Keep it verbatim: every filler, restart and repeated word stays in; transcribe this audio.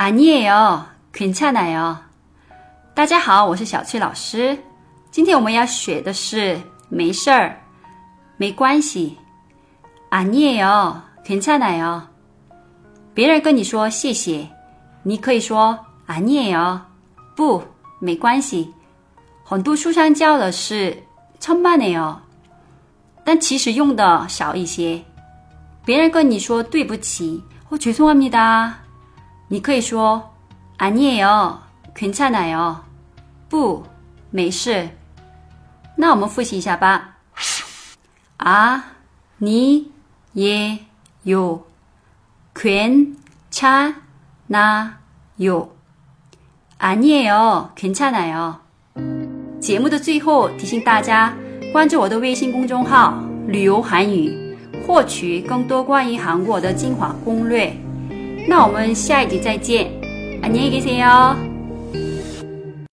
아니에요, 괜찮아요. 大家好，我是小翠老师。今天我们要学的是没事儿，没关系。아니에요, 괜찮아요. 别人跟你说谢谢，你可以说아니에요，不，没关系。很多书上教的是천만에요，但其实用的少一些。别人跟你说对不起或죄송합니다，你可以说아니에요, 괜찮아요，不，没事。那我们复习一下吧。아, 니, 예, 요, 괜찮아요. 아니에요, 괜찮아요。节目的最后提醒大家关注我的微信公众号旅游韩语，获取更多关于韩国的精华攻略。那我们下一集再见，안녕히 계세요。